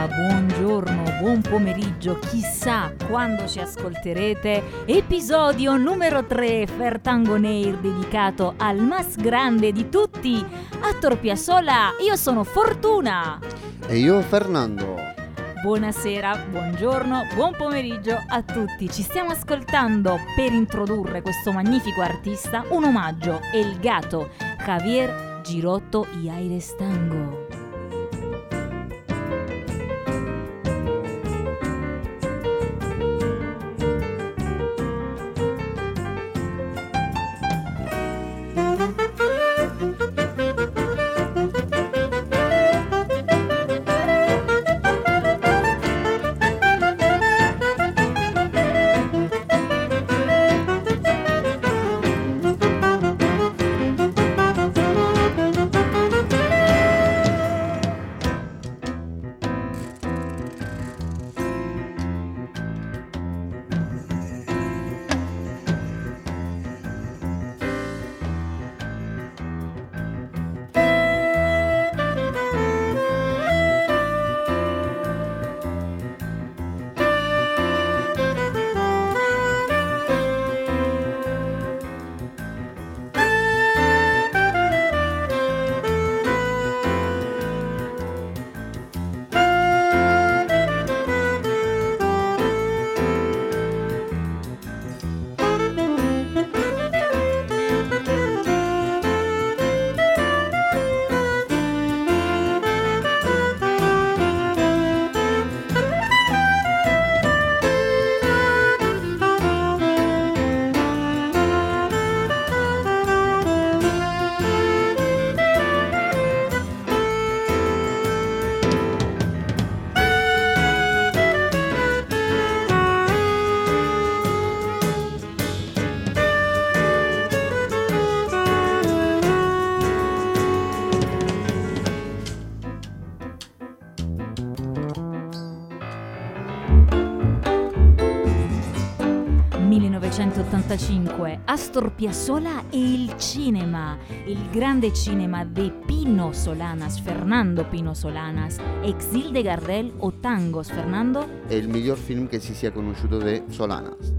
buonasera, buongiorno, buon pomeriggio, chissà quando ci ascolterete. Episodio numero 3, Fertango Neir, dedicato al mas grande di tutti, Astor Piazzolla. Io sono Fortuna. E io Fernando. Buonasera, buongiorno, buon pomeriggio a tutti. Ci stiamo ascoltando per introdurre questo magnifico artista un omaggio, El Gato, Javier Girotto y Aires Tango. Astor Piazzolla e il cinema, il grande cinema de Pino Solanas, Fernando Pino Solanas, Exil de Gardel o Tangos, Fernando? È il miglior film che si sia conosciuto di Solanas.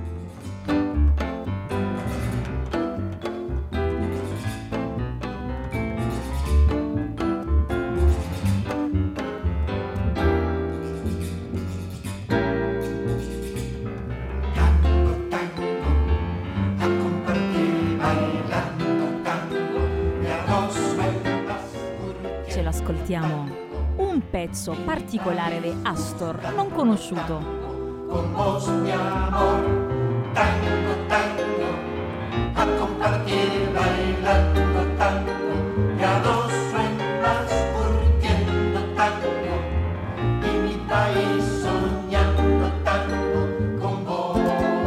Un pezzo particolare di Astor, non conosciuto. Con vos mi amor, tango, tango, a compartir bailando tango, y a dos sueños curtiendo tango, y mi país soñando tango con vos.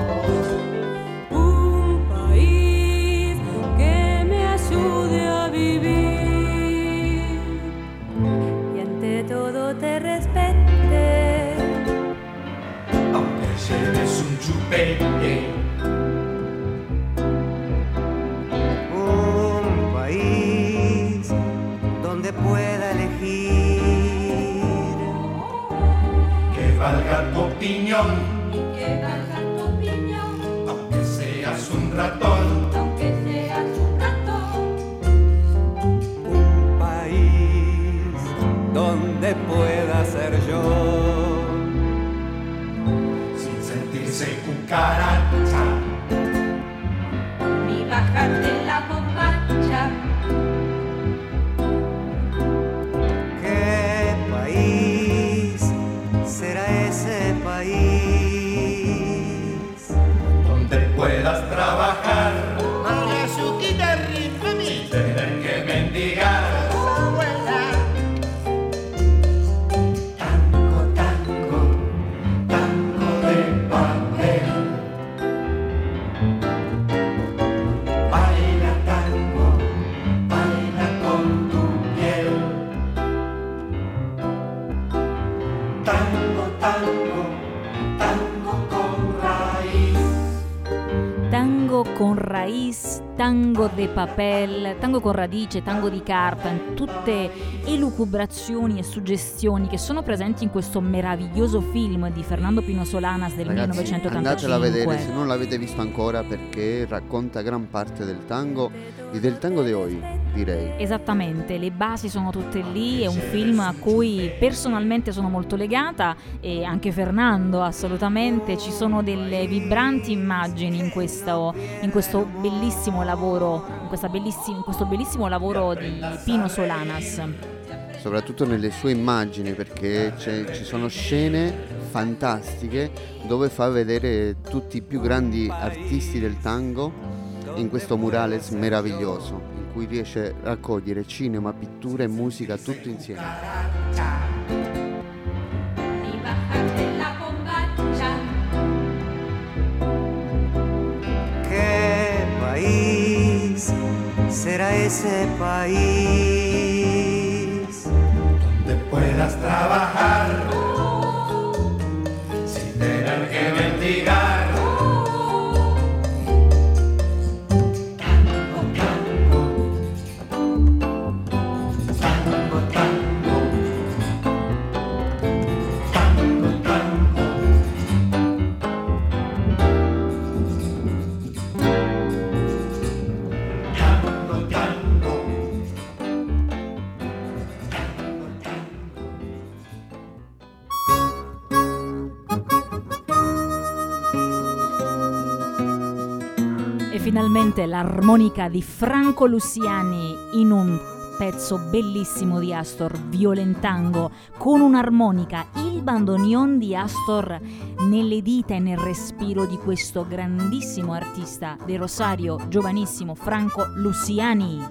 Un país que me ayude a vivir. Todo te respete, aunque lleves un chupete. Un país donde pueda elegir, que valga tu opinión, y que valga tu opinión, aunque seas un ratón. aunque seas un ratón. un país donde pueda ser yo, Sin sentirse cucaracha, Ni bajarte la bombacha. ¿qué país será ese país? donde puedas trabajar sin tener que mendigar. Tango, tango, tango de papel. Baila tango, baila con tu piel. Tango, tango, tango con raíz. Tango con raíz, tango de papel, tango con radice, tango di carta, tutte elucubrazioni e suggestioni che sono presenti in questo meraviglioso film di Fernando Pino Solanas del Ragazzi, 1985. andatela a vedere se non l'avete visto ancora, perché racconta gran parte del tango e del tango di oggi, direi. Esattamente, le basi sono tutte lì, è un film a cui personalmente sono molto legata, e anche Fernando assolutamente. Ci sono delle vibranti immagini in questo bellissimo lavoro, in questo bellissimo lavoro di Pino Solanas. Soprattutto nelle sue immagini, perché ci sono scene fantastiche dove fa vedere tutti i più grandi artisti del tango in questo murales meraviglioso, in cui riesce a raccogliere cinema, pittura e musica tutto insieme. ¿Qué país será ese país? Donde puedas trabajar sin tener que mendigar. Finalmente l'armonica di Franco Luciani in un pezzo bellissimo di Astor, Violentango, con un'armonica, il bandoneon di Astor nelle dita e nel respiro di questo grandissimo artista di Rosario, giovanissimo Franco Luciani.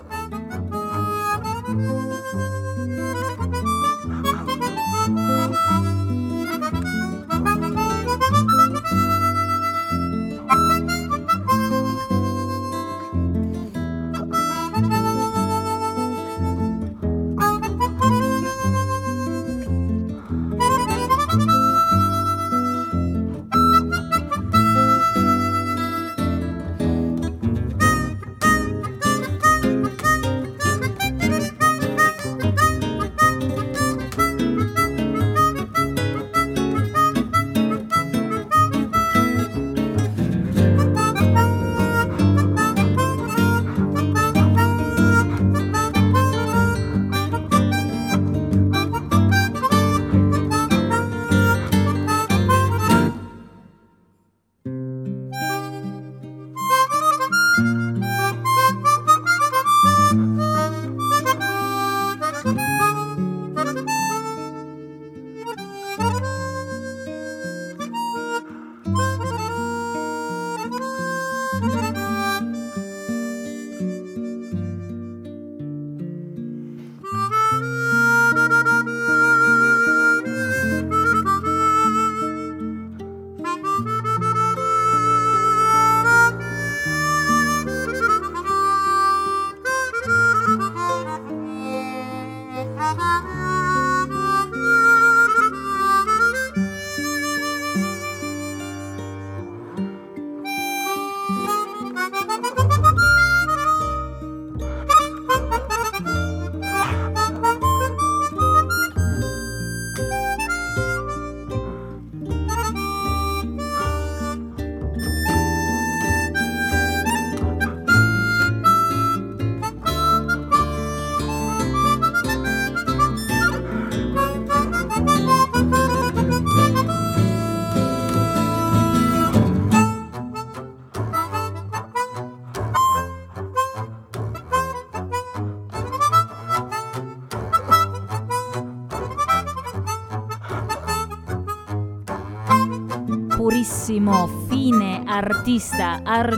Purissimo, fine artista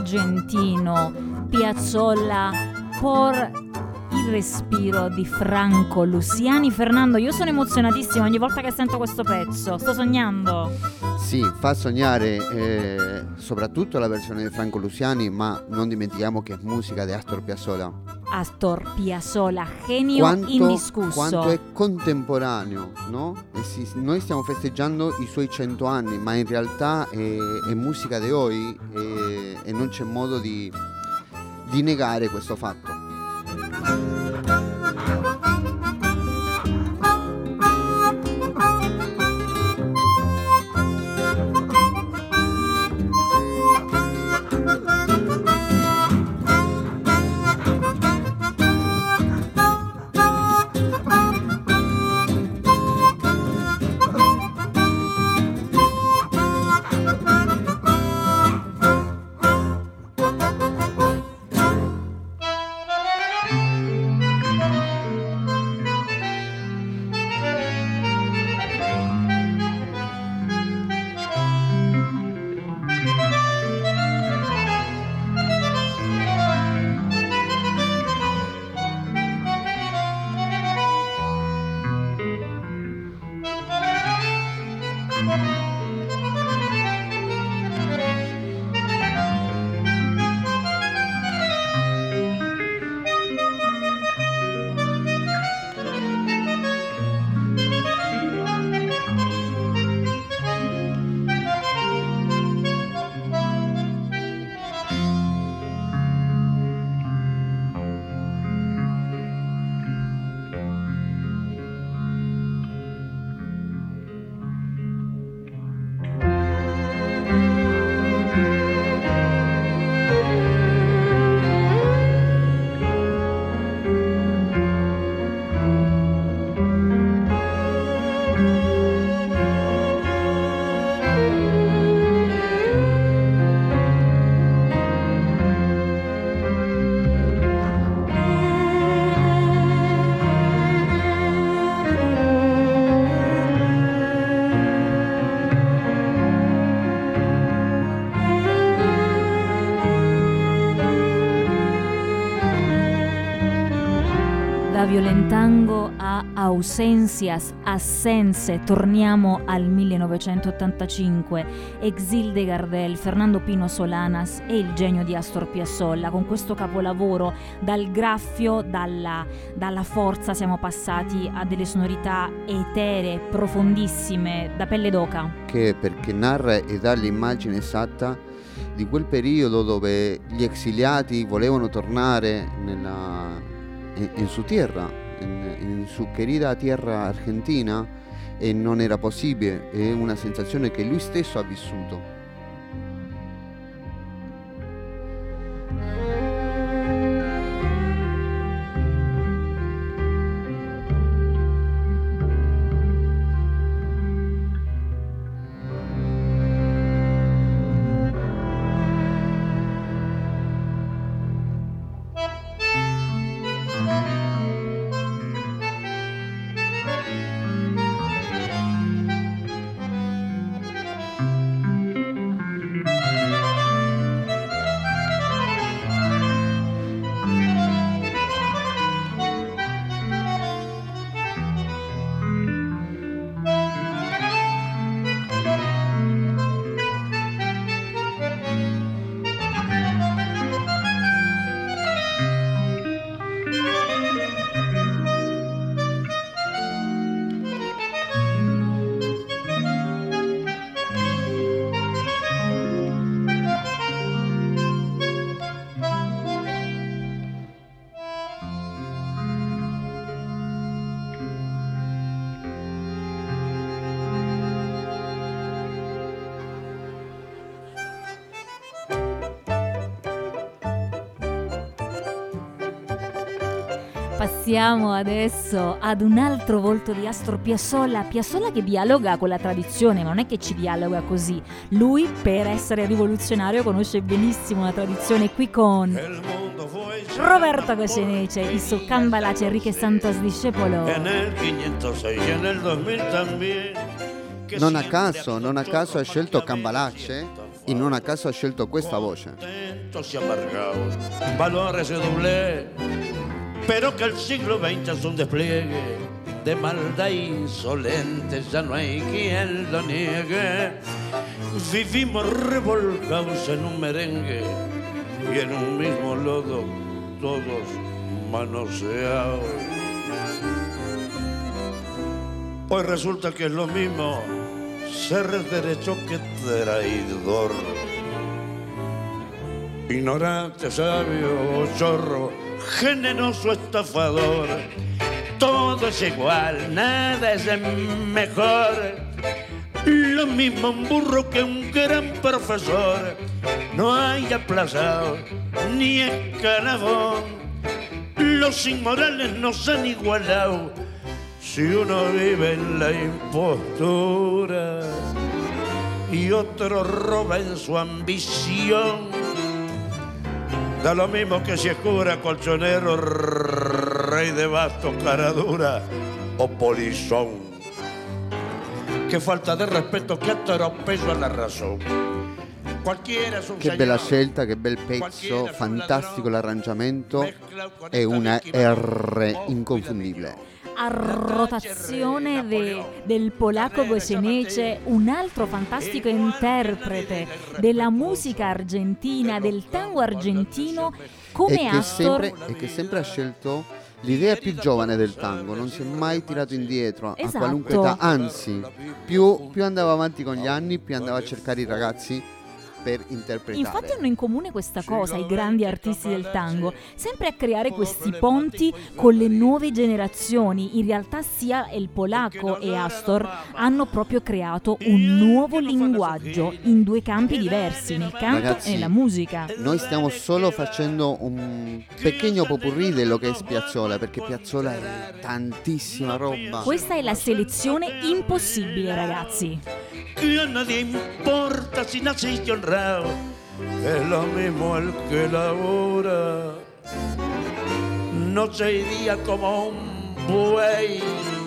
argentino, Piazzolla, por il respiro di Franco Luciani. Fernando, io sono emozionatissima ogni volta che sento questo pezzo, sto sognando. Sì, fa sognare soprattutto la versione di Franco Luciani, ma non dimentichiamo che è musica di Astor Piazzolla. Astor Piazzolla, genio indiscusso. Quanto è contemporaneo, no? Noi stiamo festeggiando i suoi 100 anni, ma in realtà è musica di oggi e non c'è modo di di negare questo fatto. Da Violentango a Ausencias, Assenze, torniamo al 1985, Exil de Gardel, Fernando Pino Solanas e il genio di Astor Piazzolla. Con questo capolavoro, dal graffio, dalla forza, siamo passati a delle sonorità eteree, profondissime, da pelle d'oca. Perché narra e dà l'immagine esatta di quel periodo dove gli exiliati volevano tornare in su tierra, in su querida tierra argentina, e non era possibile. È una sensazione che lui stesso ha vissuto. Passiamo adesso ad un altro volto di Astor Piazzolla. Piazzolla che dialoga con la tradizione, ma non è che ci dialoga così. Lui, per essere rivoluzionario, conosce benissimo la tradizione, qui con Roberto Goyeneche y su Cambalache, Enrique Santos Discepolo. Non a caso ha scelto Cambalache e non a caso ha scelto questa voce. Pero que el siglo XX es un despliegue de maldad insolente, ya no hay quien lo niegue. Vivimos revolcados en un merengue y en un mismo lodo, todos manoseados. Hoy resulta que es lo mismo ser derecho que traidor. ignorante, sabio, zorro, generoso, estafador. Todo es igual, nada es mejor. Lo mismo un burro que un gran profesor. No hay aplazado ni escalafón. Los inmorales nos han igualado. Si uno vive en la impostura y otro roba en su ambición, da lo mismo que si es cura, colchonero, rey de bastos, cara dura o polizón. Che falta di rispetto, che atropello alla razón. Che bella scelta, che bel pezzo, fantastico l'arrangiamento e una R inconfondibile. A rotazione del polacco Goyeneche, un altro fantastico interprete della musica argentina, del tango argentino, come Astor. E che sempre ha scelto l'idea più giovane del tango, non si è mai tirato indietro a qualunque età, anzi più andava avanti con gli anni, più andava a cercare i ragazzi per interpretare. Infatti hanno in comune questa cosa i grandi artisti del tango, sempre a creare questi ponti con le nuove generazioni. In realtà sia il polacco e Astor hanno proprio creato un nuovo linguaggio in due campi diversi, nel canto Ragazzi, e nella musica. Noi stiamo solo facendo un pequeño popurrí dello che è Piazzolla, perché Piazzolla è tantissima roba. Questa è la selezione impossibile, ragazzi. Que a nadie importa si naciste honrado, es lo mismo el que labora noche y día como un buey,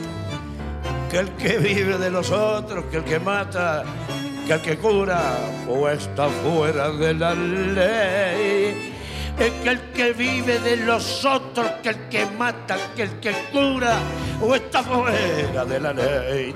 que el que vive de los otros, que el que mata, que el que cura o está fuera de la ley. Es que el que vive de los otros, que el que mata, que el que cura o está fuera de la ley.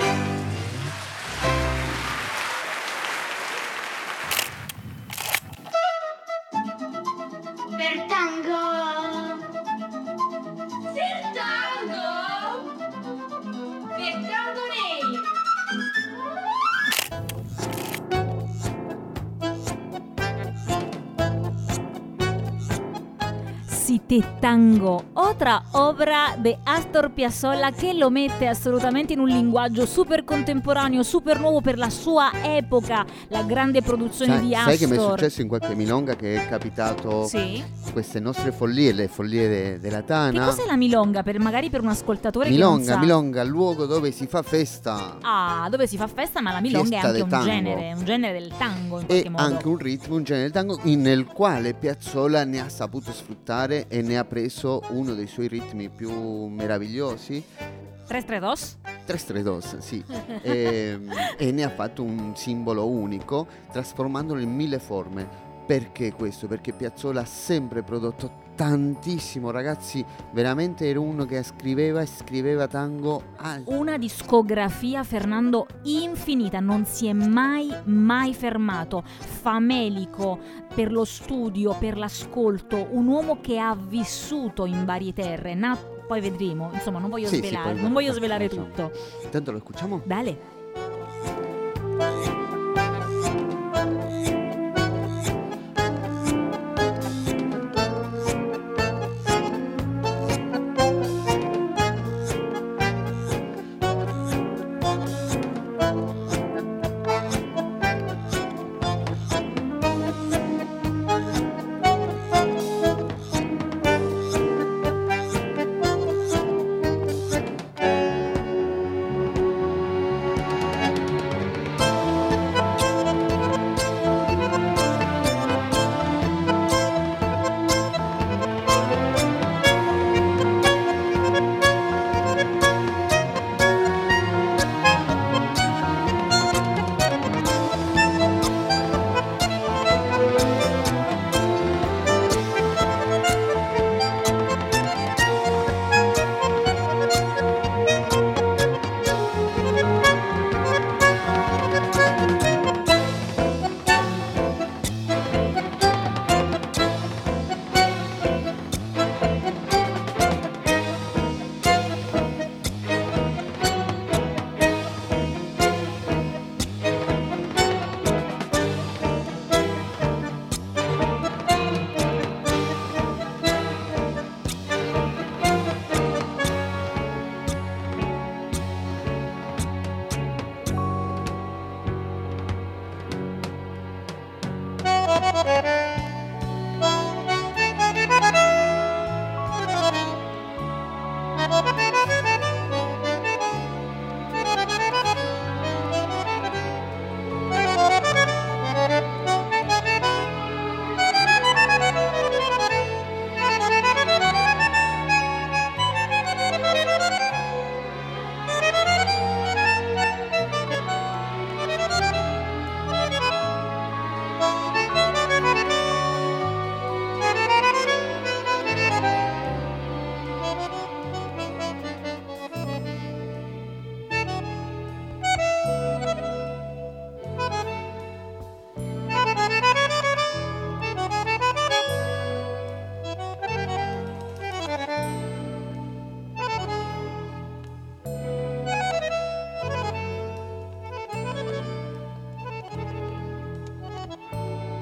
Tango, otra obra de Astor Piazzolla che lo mette assolutamente in un linguaggio super contemporaneo, super nuovo per la sua epoca, la grande produzione di Astor. Sai che mi è successo in qualche milonga che è capitato queste nostre follie, le follie della Tana. Che cos'è la milonga? Magari per un ascoltatore che non sa. Milonga, luogo dove si fa festa. Ah, dove si fa festa, ma la milonga Fiesta è anche un genere del tango in qualche modo. E anche un ritmo, un genere del tango nel quale Piazzolla ne ha saputo sfruttare e ne ha preso uno dei suoi ritmi più meravigliosi. Tres Tres Dos, sì. e ne ha fatto un simbolo unico, trasformandolo in 1000 forme. Perché questo? Perché Piazzolla ha sempre prodotto tantissimo, ragazzi, veramente era uno che scriveva tango una discografia, Fernando, infinita, non si è mai fermato, famelico per lo studio, per l'ascolto, un uomo che ha vissuto in varie terre, poi vedremo, insomma non voglio svelare tutto. Intanto lo ascoltiamo? Dale.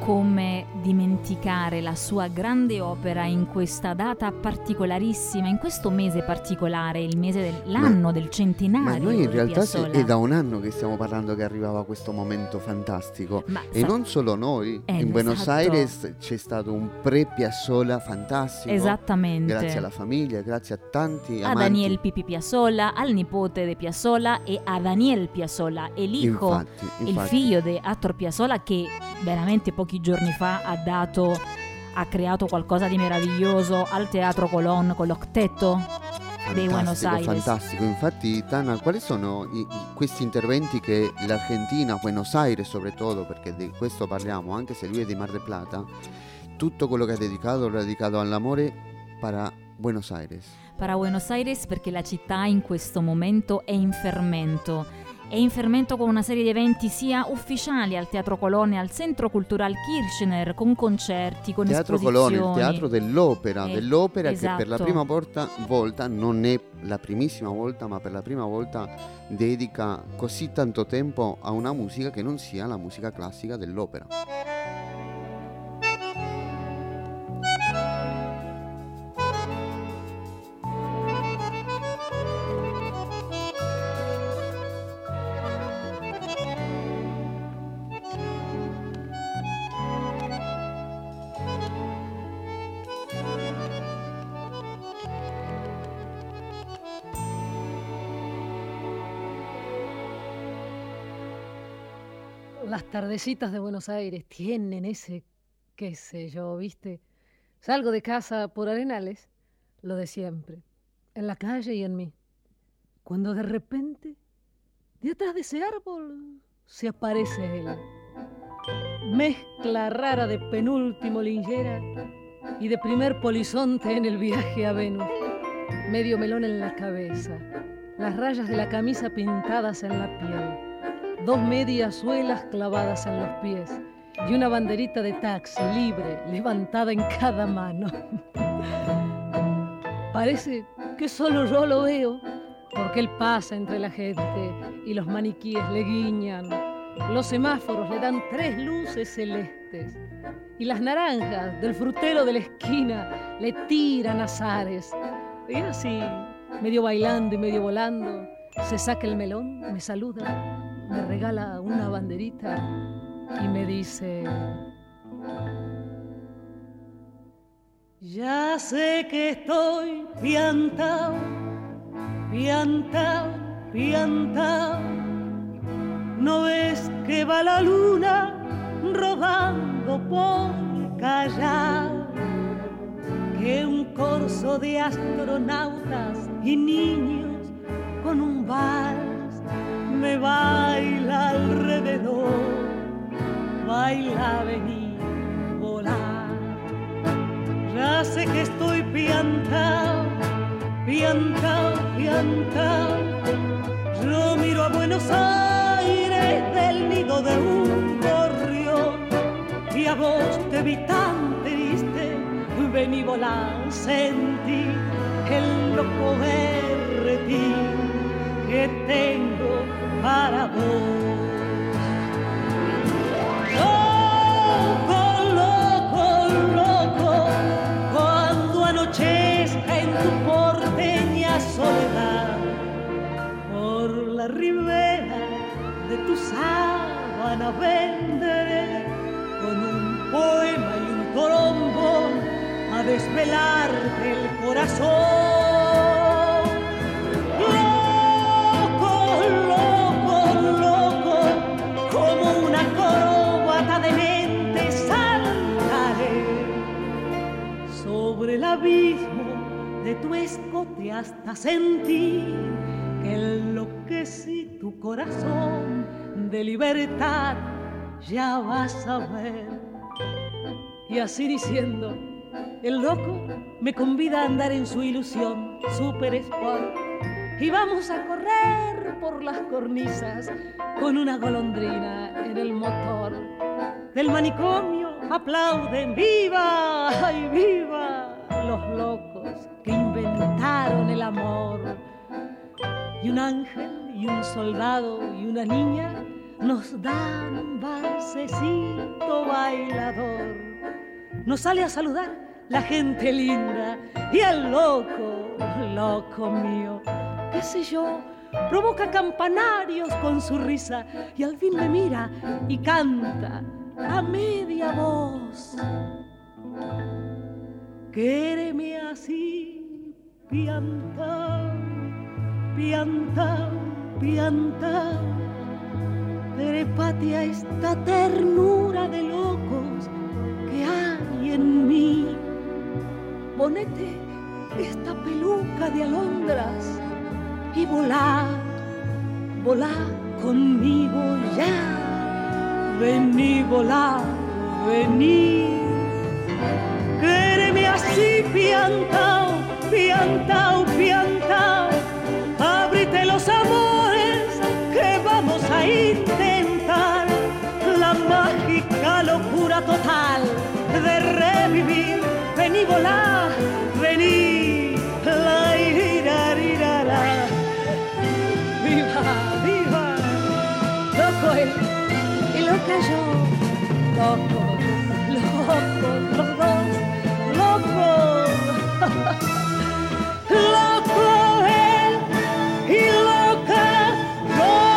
come dimenticare la sua grande opera in questa data particolarissima, in questo mese particolare, il mese dell'anno del centenario. Ma noi in di realtà Piazzolla. è da un anno che stiamo parlando che arrivava questo momento fantastico. E non solo noi, in Buenos Aires c'è stato un pre-Piazzolla fantastico. Esattamente. Grazie alla famiglia, grazie a tanti a amanti. Daniel Pipi Piazzolla, al nipote di Piazzolla e a Daniel Piazzolla, el hijo, infatti. il figlio di Astor Piazzolla, che veramente pochi giorni fa ha creato qualcosa di meraviglioso al Teatro Colón con l'Octeto di Buenos Aires. Fantastico, infatti Tana, quali sono questi interventi che l'Argentina, Buenos Aires soprattutto, perché di questo parliamo, anche se lui è di Mar del Plata, tutto quello che ha dedicato l'ha dedicato all'amore para Buenos Aires? Para Buenos Aires, perché la città in questo momento è in fermento. È in fermento con una serie di eventi sia ufficiali al Teatro Colón e al Centro Cultural Kirchner, con concerti, con Teatro esposizioni. Colón, il teatro dell'opera, esatto. Che per la prima volta, non è la primissima volta, ma per la prima volta dedica così tanto tempo a una musica che non sia la musica classica dell'opera. Las tardecitas de Buenos Aires tienen ese, qué sé yo, ¿viste? Salgo de casa por Arenales, lo de siempre, en la calle y en mí. Cuando de repente, de atrás de ese árbol, se aparece él. Mezcla rara de penúltimo linchera y de primer polizonte en el viaje a Venus. Medio melón en la cabeza, las rayas de la camisa pintadas en la piel. 2 medias suelas clavadas en los pies y una banderita de taxi libre levantada en cada mano. Parece que solo yo lo veo, porque él pasa entre la gente y los maniquíes le guiñan. Los semáforos le dan 3 luces celestes y las naranjas del frutero de la esquina le tiran azares. Y así, medio bailando y medio volando, se saca el melón, me saluda, me regala una banderita y me dice: ya sé que estoy piantao, piantao, piantao. ¿No ves que va la luna rodando por Callao? Que un corso de astronautas y niños con un vals me baila alrededor, baila, vení, volar. Ya sé que estoy piantao, piantao, piantao. Yo miro a Buenos Aires del nido de un gorrión y a vos te vi tan triste, vení, volar, sentí el loco berretín que tengo para vos. Loco, loco, loco, cuando anochezca en tu porteña soledad, por la ribera de tu sábana vendré con un poema y un trombón a desvelarte el corazón. Como una acróbata de mente saltaré sobre el abismo de tu escote hasta sentir que enloquecí tu corazón de libertad, ya vas a ver. Y así diciendo, el loco me convida a andar en su ilusión super sport y vamos a correr por las cornisas con una golondrina en el motor. Del manicomio aplauden, ¡viva! ¡Ay, viva! Los locos que inventaron el amor. Y un ángel y un soldado y una niña nos dan un balsecito bailador. Nos sale a saludar la gente linda y el loco, loco mío, qué sé yo, provoca campanarios con su risa y al fin me mira y canta a media voz. Quéreme así, piantao, piantao, piantao, trépate a esta ternura de locos que hay en mí. Ponete esta peluca de alondras y volá, volá conmigo ya. Vení, volá, vení. Quéreme así, piantao, piantao, piantao. Ábrite los amores que vamos a intentar. La mágica locura total de revivir. Vení, volá, vení. La irarirara. Viva, viva. Loco él y loca yo. Loco, loco, los dos. Loco. Loco él y loca yo.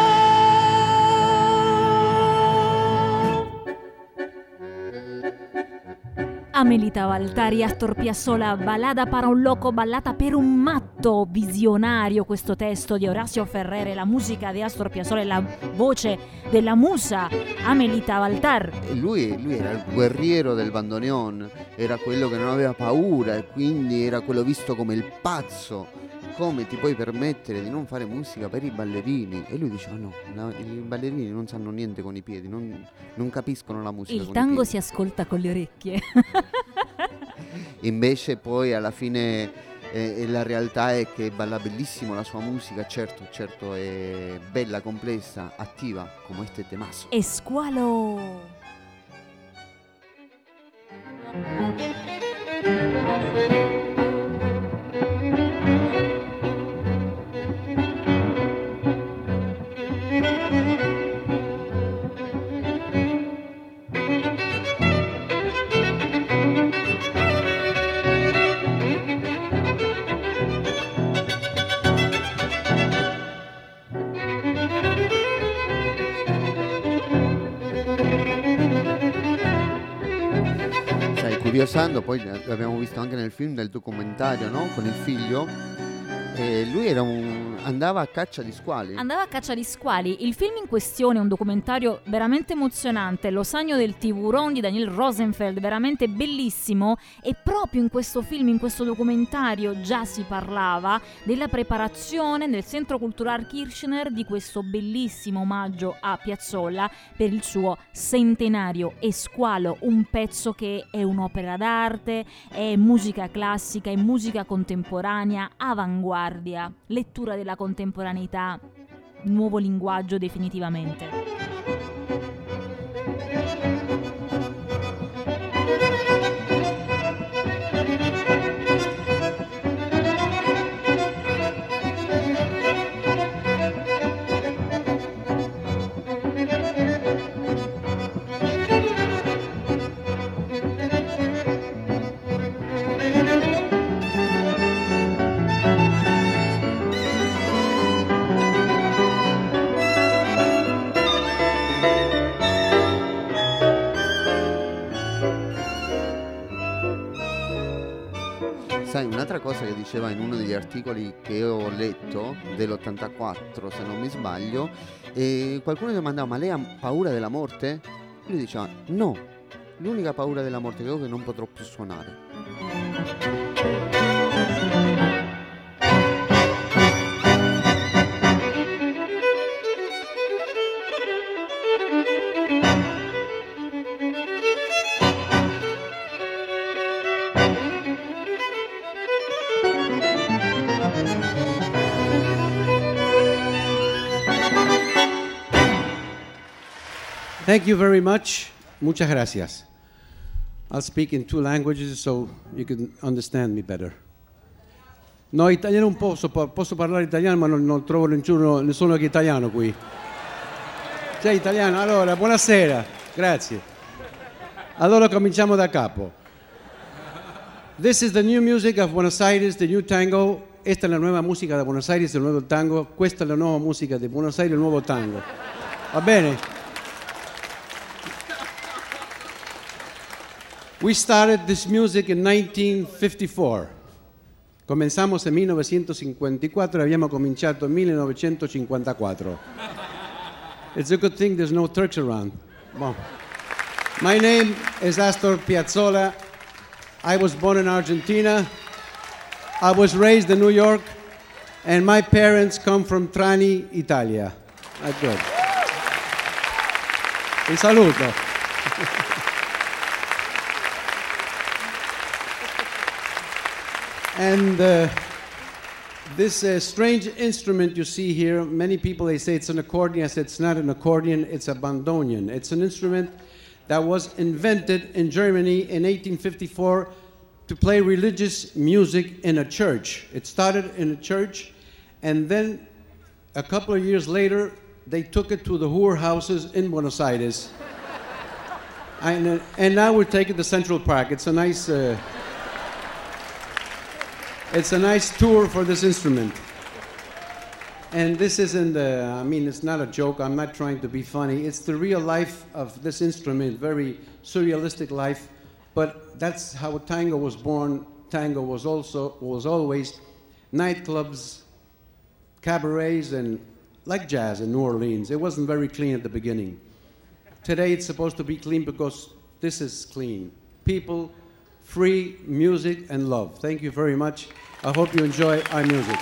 Amelita Valtari, Astor Piazzolla, Ballada para un loco, ballata per un matto, visionario questo testo di Orazio Ferrere, la musica di Astor Piazzolla e la voce della musa Amelita Valtari. Lui era il guerriero del bandoneon, era quello che non aveva paura e quindi era quello visto come il pazzo. Come ti puoi permettere di non fare musica per i ballerini? E lui diceva no, i ballerini non sanno niente con i piedi, non capiscono la musica Il con tango i piedi. si ascolta con le orecchie. Invece poi alla fine la realtà è che balla bellissimo la sua musica, certo è bella, complessa, attiva come este temazo. E squalo. Curiosando, poi l'abbiamo visto anche nel film del documentario, no? Con il figlio, lui andava a caccia di squali. Andava a caccia di squali. Il film in questione è un documentario veramente emozionante, Lo Sagno del Tiburon di Daniel Rosenfeld, veramente bellissimo, e proprio in questo film, in questo documentario già si parlava della preparazione nel Centro Cultural Kirchner di questo bellissimo omaggio a Piazzolla per il suo centenario. E Squalo, un pezzo che è un'opera d'arte, è musica classica, è musica contemporanea, avanguardia, lettura della contemporaneità, nuovo linguaggio definitivamente. Sai, un'altra cosa che diceva in uno degli articoli che ho letto dell'84, se non mi sbaglio, qualcuno gli domandava: ma lei ha paura della morte? Lui diceva: no, l'unica paura della morte che ho è che non potrò più suonare. Thank you very much. Muchas gracias. I'll speak in two languages so you can understand me better. No, italiano posso parlare italiano, ma non trovo nessuno che è italiano qui. Sei italiano? Allora, buonasera, grazie. Allora cominciamo da capo. This is the new music of Buenos Aires, the new tango. Esta è la nuova musica da Buenos Aires, il nuovo tango. Questa è la nuova musica di Buenos Aires, il nuovo tango. Va bene? We started this music in 1954. Comenzamos en 1954 e abbiamo cominciato nel 1954. It's a good thing there's no Turks around. Bon. My name is Astor Piazzolla. I was born in Argentina. I was raised in New York. And my parents come from Trani, Italia. That's good. Vi saluto. And this strange instrument you see here, many people, they say it's an accordion. I said it's not an accordion, it's a bandoneon. It's an instrument that was invented in Germany in 1854 to play religious music in a church. It started in a church, and then a couple of years later, they took it to the whorehouses in Buenos Aires. And now we're taking it to Central Park. It's a nice... It's a nice tour for this instrument. And this isn't, it's not a joke. I'm not trying to be funny. It's the real life of this instrument, very surrealistic life. But that's how tango was born. Tango was always nightclubs, cabarets, and like jazz in New Orleans. It wasn't very clean at the beginning. Today it's supposed to be clean because this is clean. People, free music and love. Thank you very much. I hope you enjoy our music.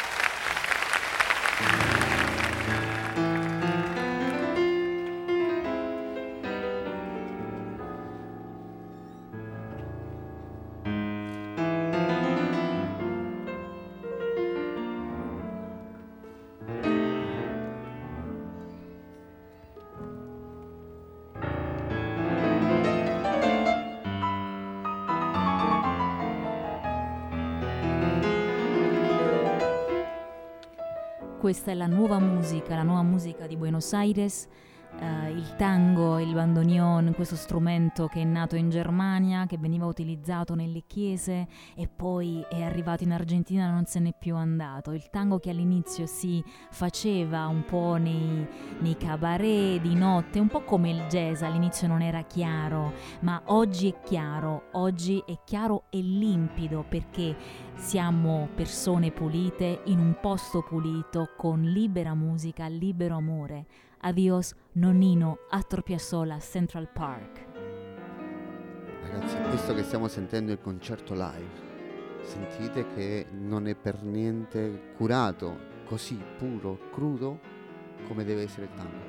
Questa è la nuova musica di Buenos Aires, il tango, il bandoneon, questo strumento che è nato in Germania, che veniva utilizzato nelle chiese e poi è arrivato in Argentina e non se n'è più andato. Il tango che all'inizio si faceva un po' nei cabaret di notte, un po' come il jazz, all'inizio non era chiaro, ma oggi è chiaro e limpido perché siamo persone pulite in un posto pulito con libera musica, libero amore. Adios nonnino, Astor Piazzolla, Central Park. Ragazzi, questo che stiamo sentendo è il concerto live. Sentite che non è per niente curato, così puro, crudo come deve essere il tango.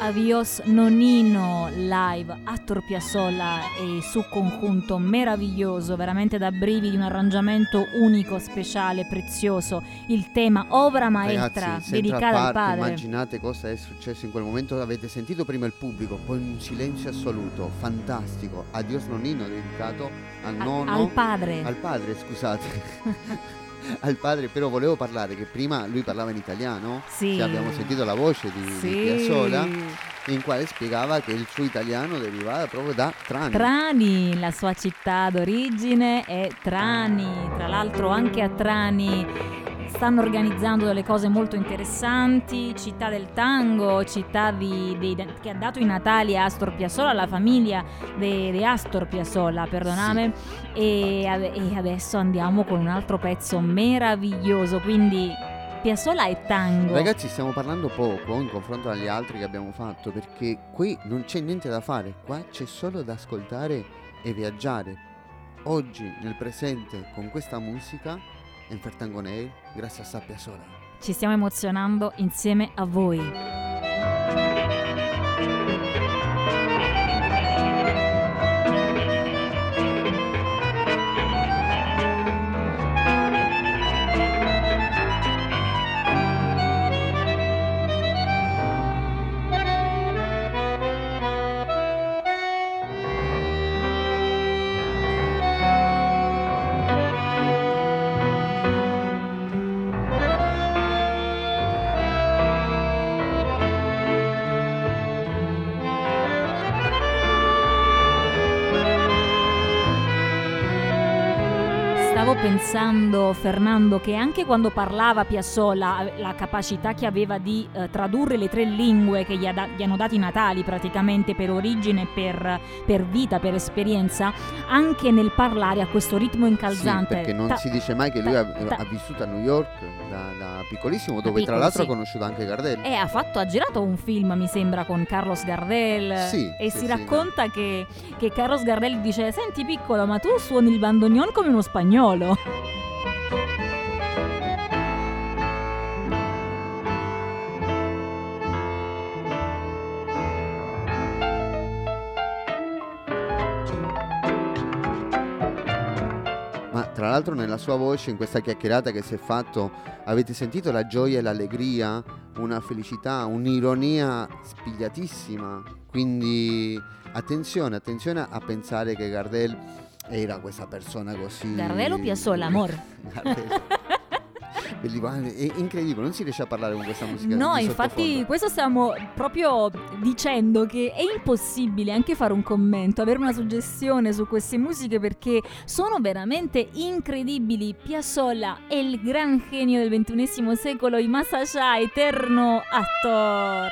Adios Nonino live Astor Piazzolla e su conjunto meraviglioso, veramente da brividi, un arrangiamento unico, speciale, prezioso, il tema Obra Maestra. Ragazzi, dedicata al padre. Immaginate cosa è successo in quel momento. Avete sentito prima il pubblico, poi un silenzio assoluto, fantastico. Adios Nonino, dedicato al nonno, al padre, scusate. Al padre, però volevo parlare che prima lui parlava in italiano, sì. Abbiamo sentito la voce di Piazzolla, in quale spiegava che il suo italiano derivava proprio da Trani. Trani, la sua città d'origine è Trani. Tra l'altro anche a Trani stanno organizzando delle cose molto interessanti, città del tango, città che ha dato i natali a Astor Piazzolla, alla famiglia di Astor Piazzolla, perdoname, sì. E adesso andiamo con un altro pezzo meraviglioso, quindi Piazzolla e tango. Ragazzi, stiamo parlando poco in confronto agli altri che abbiamo fatto, perché qui non c'è niente da fare, qua c'è solo da ascoltare e viaggiare. Oggi, nel presente, con questa musica, in Fertangoneir, grazie a Sa Piazzolla. Ci stiamo emozionando insieme a voi. Pensando, Fernando, che anche quando parlava Piazzolla, la capacità che aveva di tradurre le 3 lingue che gli hanno dato i natali praticamente per origine, per vita, per esperienza, anche nel parlare a questo ritmo incalzante. Sì, perché non si dice mai che lui ha vissuto a New York da piccolissimo, dove tra l'altro ha conosciuto anche Gardel. Ha girato un film, mi sembra, con Carlos Gardel. Sì, e si racconta che Carlos Gardel dice: senti piccolo, ma tu suoni il bandoneon come uno spagnolo. Ma tra l'altro nella sua voce, in questa chiacchierata che si è fatto, avete sentito la gioia e l'allegria, una felicità, un'ironia spigliatissima. Quindi attenzione a pensare che Gardel era questa persona così. Gardel o Piazzolla, amor? Gardel. È incredibile, non si riesce a parlare con questa musica. No, infatti questo stiamo proprio dicendo, che è impossibile anche fare un commento, avere una suggestione su queste musiche, perché sono veramente incredibili. Piazzolla è il gran genio del XXI secolo, y más allá, eterno Astor.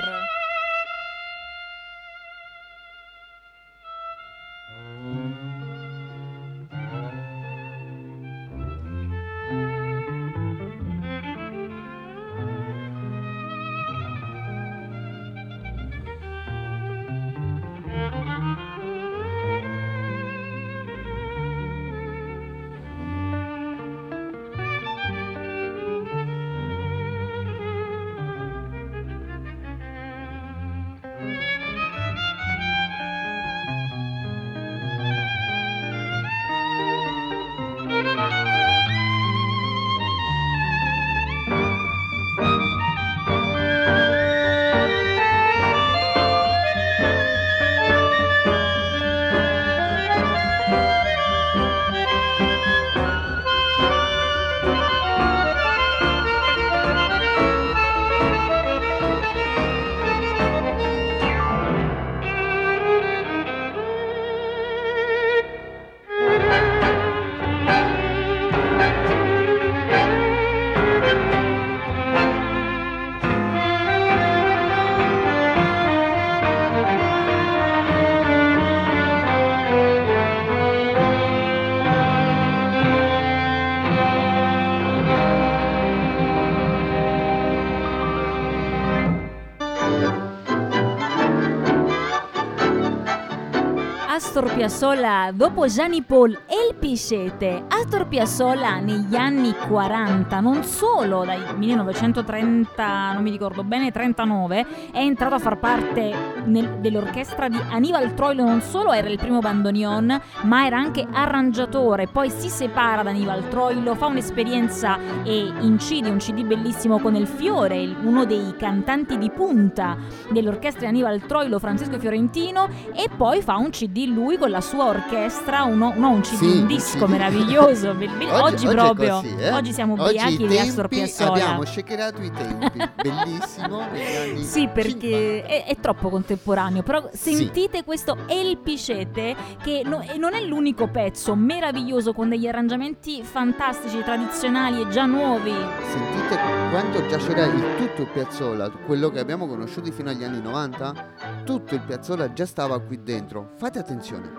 Piazzolla dopo Gianni Paul e il Piscete. Astor Piazzolla negli anni 40, non solo dai 1930, non mi ricordo bene, 39, è entrato a far parte dell'orchestra di Aníbal Troilo. Non solo era il primo bandoneon, ma era anche arrangiatore. Poi si separa da Aníbal Troilo, fa un'esperienza e incide un CD bellissimo con El Fiore, uno dei cantanti di punta dell'orchestra di Aníbal Troilo, Francesco Fiorentino, e poi fa un CD lui con la sua orchestra, un CD, un disco meraviglioso. Oggi proprio così, oggi siamo ubriachi di Astor Piazzolla. Abbiamo shakerato i tempi, bellissimo. Sì, perché è troppo contemporaneo, però sentite questo El Piscete, che non è l'unico pezzo meraviglioso, con degli arrangiamenti fantastici, tradizionali e già nuovi. Sentite quanto già c'era tutto il Piazzolla, quello che abbiamo conosciuto fino agli anni 90, tutto il Piazzolla già stava qui dentro. Fate attenzione.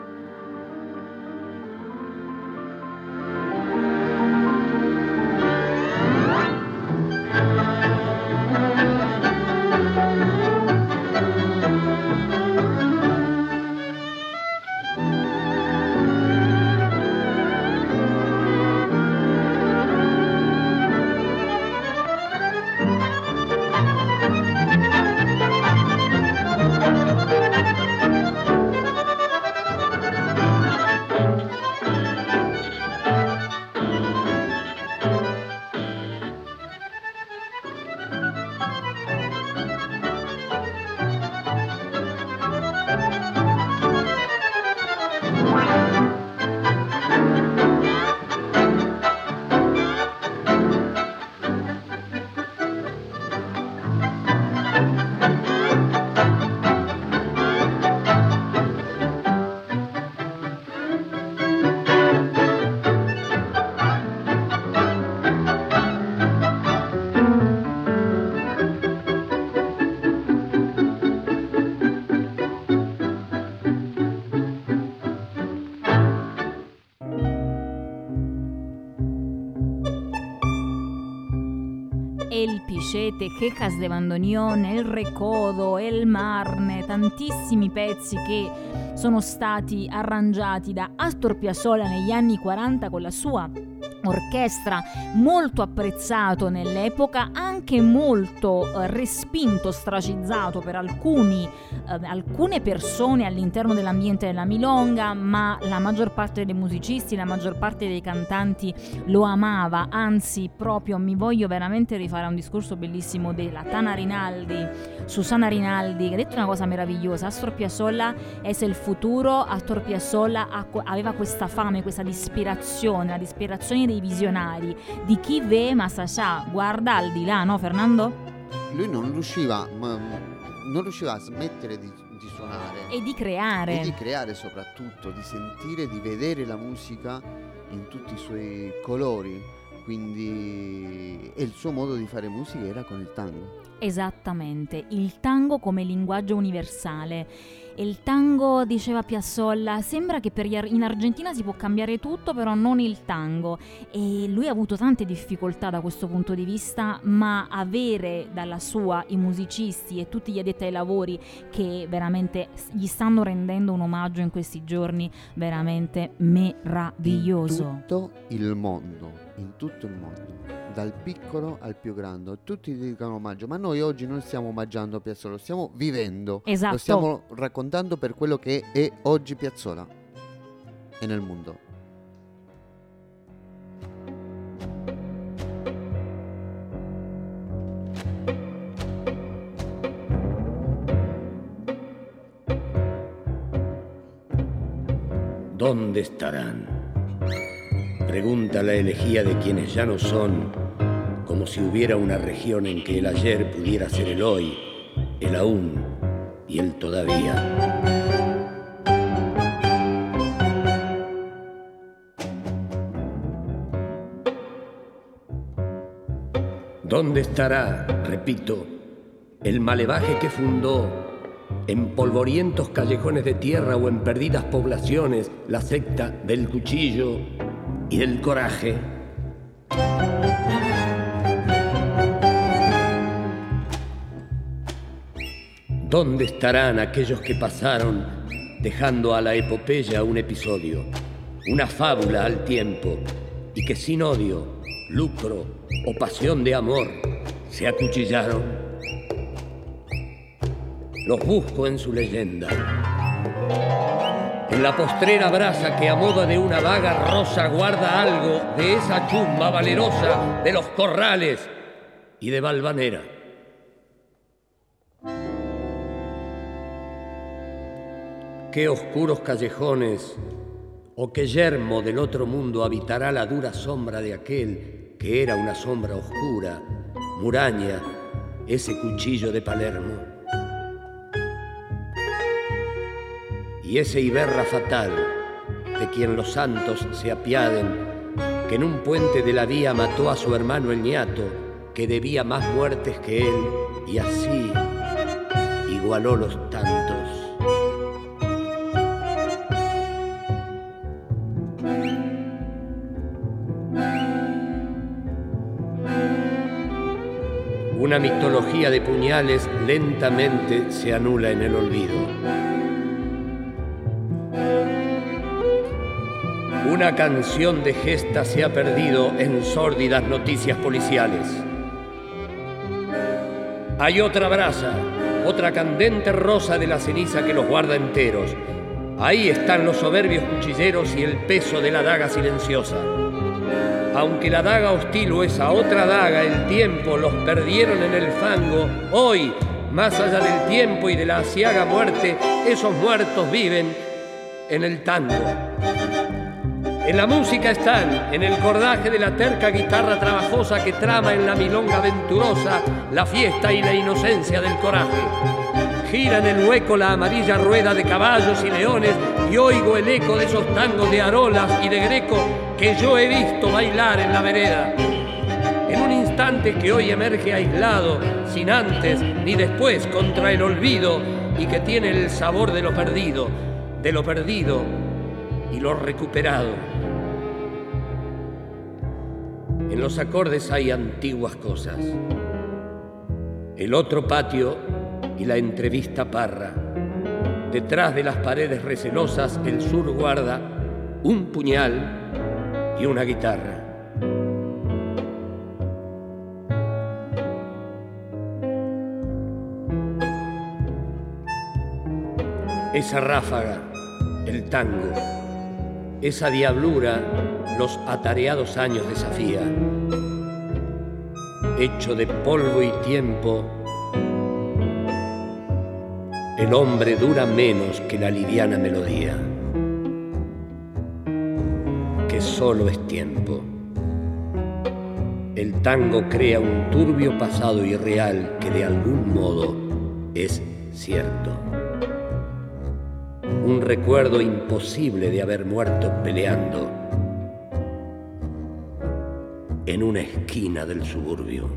El Piscete, Quejas de Bandoneon, El Recodo, El Marne, tantissimi pezzi che sono stati arrangiati da Astor Piazzolla negli anni 40 con la sua orchestra, molto apprezzato nell'epoca, anche molto respinto, ostracizzato per alcune persone all'interno dell'ambiente della milonga, ma la maggior parte dei musicisti, la maggior parte dei cantanti lo amava. Anzi, proprio mi voglio veramente rifare a un discorso bellissimo della Tana Rinaldi, Susana Rinaldi, che ha detto una cosa meravigliosa: Astor Piazzolla è il futuro. Astor Piazzolla aveva questa fame, questa disperazione, la disperazione dei visionari, di chi ve Masascià, guarda al di là, no Fernando? Lui non riusciva a smettere di suonare e di creare soprattutto, di sentire, di vedere la musica in tutti i suoi colori, quindi e il suo modo di fare musica era con il tango. Esattamente, il tango come linguaggio universale. E il tango, diceva Piazzolla, sembra che in Argentina si può cambiare tutto, però non il tango. E lui ha avuto tante difficoltà da questo punto di vista, ma avere dalla sua i musicisti e tutti gli addetti ai lavori che veramente gli stanno rendendo un omaggio in questi giorni veramente meraviglioso. In tutto il mondo, dal piccolo al più grande, tutti gli dedicano omaggio, ma noi oggi non stiamo omaggiando Piazzolla, lo stiamo vivendo, esatto. Lo stiamo raccontando per quello che è oggi Piazzolla e nel mondo. ¿Dónde estarán? Pregunta la elegía de quienes ya no son, como si hubiera una región en que el ayer pudiera ser el hoy, el aún y el todavía. ¿Dónde estará, repito, el malevaje que fundó en polvorientos callejones de tierra o en perdidas poblaciones la secta del cuchillo y del coraje? ¿Dónde estarán aquellos que pasaron dejando a la epopeya un episodio, una fábula al tiempo, y que sin odio, lucro o pasión de amor se acuchillaron. Los busco en su leyenda, en la postrera brasa que a modo de una vaga rosa guarda algo de esa chumba valerosa de los corrales y de Valvanera. Qué oscuros callejones o qué yermo del otro mundo habitará la dura sombra de aquel que era una sombra oscura, Muraña, ese cuchillo de Palermo. Y ese Iberra fatal, de quien los santos se apiaden, que en un puente de la vía mató a su hermano el ñato, que debía más muertes que él, y así igualó los tantos. Una mitología de puñales lentamente se anula en el olvido. Una canción de gesta se ha perdido en sórdidas noticias policiales. Hay otra brasa, otra candente rosa de la ceniza que los guarda enteros. Ahí están los soberbios cuchilleros y el peso de la daga silenciosa. Aunque la daga hostil o esa otra daga, el tiempo, los perdieron en el fango, hoy, más allá del tiempo y de la aciaga muerte, esos muertos viven en el tango. En la música están, en el cordaje de la terca guitarra trabajosa que trama en la milonga venturosa la fiesta y la inocencia del coraje. Gira en el hueco la amarilla rueda de caballos y leones y oigo el eco de esos tangos de Arolas y de Greco que yo he visto bailar en la vereda. En un instante que hoy emerge aislado, sin antes ni después contra el olvido y que tiene el sabor de lo perdido y lo recuperado. En los acordes hay antiguas cosas. El otro patio y la entrevista parra. Detrás de las paredes recelosas el sur guarda un puñal y una guitarra. Esa ráfaga, el tango, esa diablura, los atareados años desafía. Hecho de polvo y tiempo, el hombre dura menos que la liviana melodía, que solo es tiempo. El tango crea un turbio pasado irreal que de algún modo es cierto. Un recuerdo imposible de haber muerto peleando en una esquina del suburbio.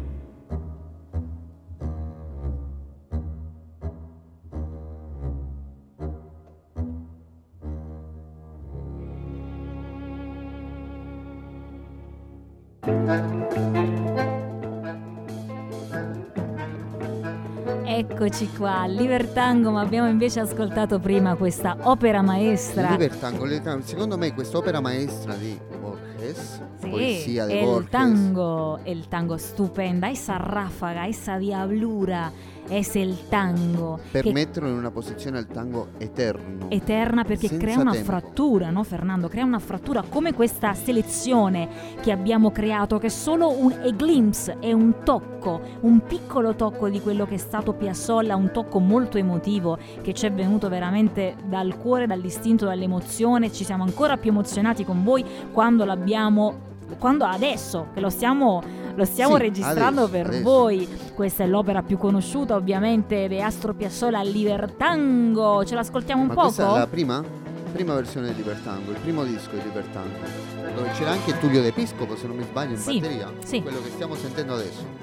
Eccoci qua, Libertango, ma abbiamo invece ascoltato prima questa opera maestra. Libertango, secondo me quest'opera maestra di Borges, poesia di Borges. El tango stupenda, esa ráfaga, esa diablura, es el tango. Per metterlo in una posizione al tango eterna perché crea una frattura, no Fernando? Crea una frattura come questa selezione che abbiamo creato, che è solo un glimpse, è un tocco, un piccolo tocco di quello che è stato Piazzolla, un tocco molto emotivo che ci è venuto veramente dal cuore, dall'istinto, dall'emozione. Ci siamo ancora più emozionati con voi quando adesso che lo stiamo registrando adesso. Voi. Questa è l'opera più conosciuta ovviamente di Astor Piazzolla, Libertango. Ce l'ascoltiamo un poco? Questa è la prima versione di Libertango, il primo disco di Libertango, dove c'era anche Tullio De Piscopo, se non mi sbaglio, in batteria. Sì. Quello che stiamo sentendo adesso.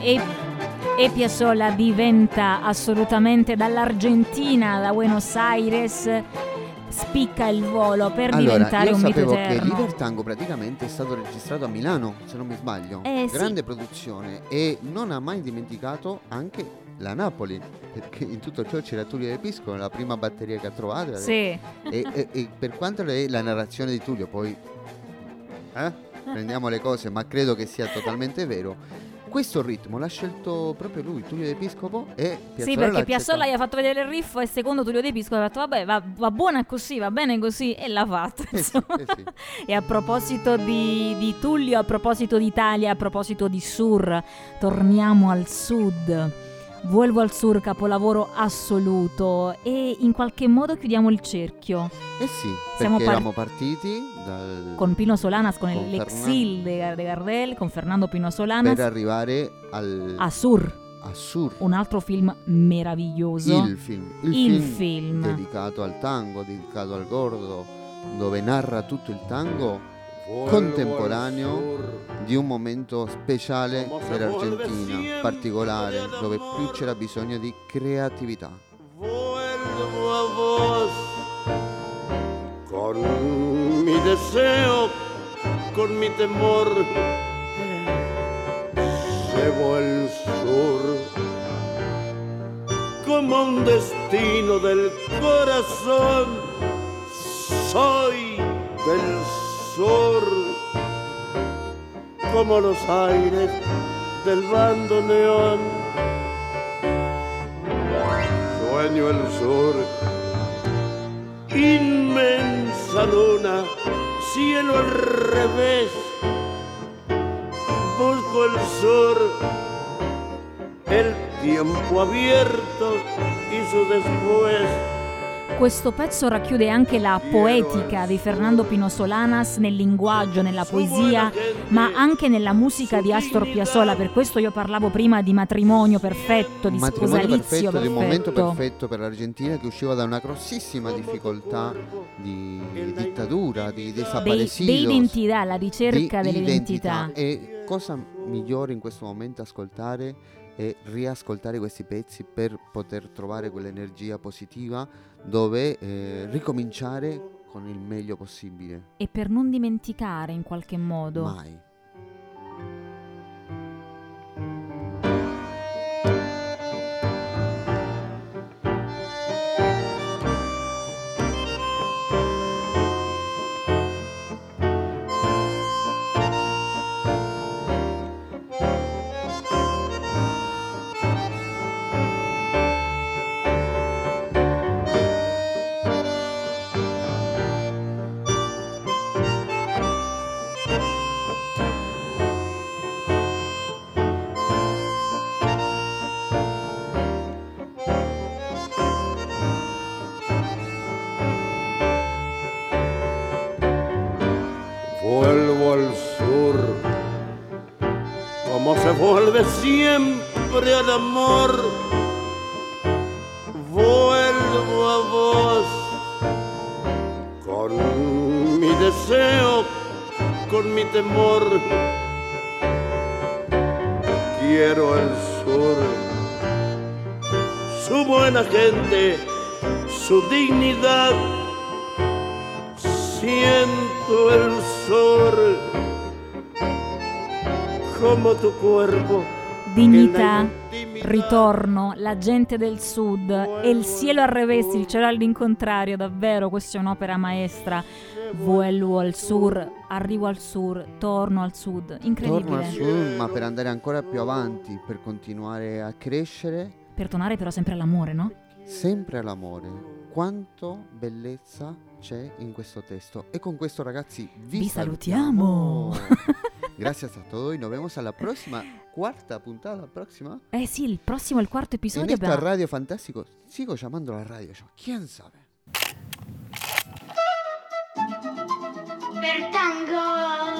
e Piazzolla diventa assolutamente, dall'Argentina, da Buenos Aires, spicca il volo per diventare un mito eterno. Io sapevo che Liber Tango praticamente è stato registrato a Milano, se non mi sbaglio. Grande produzione, e non ha mai dimenticato anche la Napoli, perché in tutto ciò c'era Tullio De Piscopo, la prima batteria che ha trovato. Sì. E per quanto è la narrazione di Tullio, poi prendiamo le cose, ma credo che sia totalmente vero. Questo ritmo l'ha scelto proprio lui, Tullio De Piscopo, e Piazzolla. Sì, perché Piazzolla gli ha fatto vedere il riff e secondo Tullio De Piscopo ha detto vabbè, va buona così, va bene così, e l'ha fatto. Sì. E a proposito di Tullio, a proposito d'Italia, a proposito di Sur, torniamo al sud. Vuelvo al Sur, capolavoro assoluto, e in qualche modo chiudiamo il cerchio. Sì, perché eravamo partiti con Pino Solanas, con l'exil de Gardel, con Fernando Pino Solanas, per arrivare a Sur. Un altro film meraviglioso. Il film dedicato al tango, dedicato al gordo, dove narra tutto il tango contemporaneo di un momento speciale per l'Argentina, particolare, dove più c'era bisogno di creatività. Vuelvo a vos con mi deseo, con mi temor, llevo el sur como un destino del corazón, soy del sur como los aires del bandoneón. Sueño el sur, inmensa luna, cielo al revés. Busco el sur, el tiempo abierto y su después. Questo pezzo racchiude anche la poetica di Fernando Pino Solanas nel linguaggio, nella poesia, ma anche nella musica di Astor Piazzolla. Per questo io parlavo prima di matrimonio perfetto, di sposalizio perfetto. Di un momento perfetto per l'Argentina, che usciva da una grossissima difficoltà di dittatura, di desaparecidos, di identità, la ricerca dell'identità. E cosa migliore in questo momento ascoltare e riascoltare questi pezzi per poter trovare quell'energia positiva, dove ricominciare con il meglio possibile. E per non dimenticare in qualche modo. Mai. Vuelvo al sur, como se vuelve siempre al amor. Vuelvo a vos, con mi deseo, con mi temor. Quiero el sur, su buena gente, su dignidad. Siento el sol como tu cuerpo. Dignità, ritorno, la gente del sud e il cielo al revés, il cielo all'incontrario. Davvero, questa è un'opera maestra. Vuelvo al sur, arrivo al sur, torno al sud. Incredibile. Torno al sud, ma per andare ancora più avanti, per continuare a crescere. Per tornare però sempre all'amore, no? Sempre all'amore. Quanto bellezza c'è in questo testo. E con questo, ragazzi, vi salutiamo. Grazie a tutti, nos vemos alla prossima quarta puntata. La prossima? Sì, il prossimo, il quarto episodio. En esta radio fantástico, sigo llamando la radio yo, quién sabe. Per tango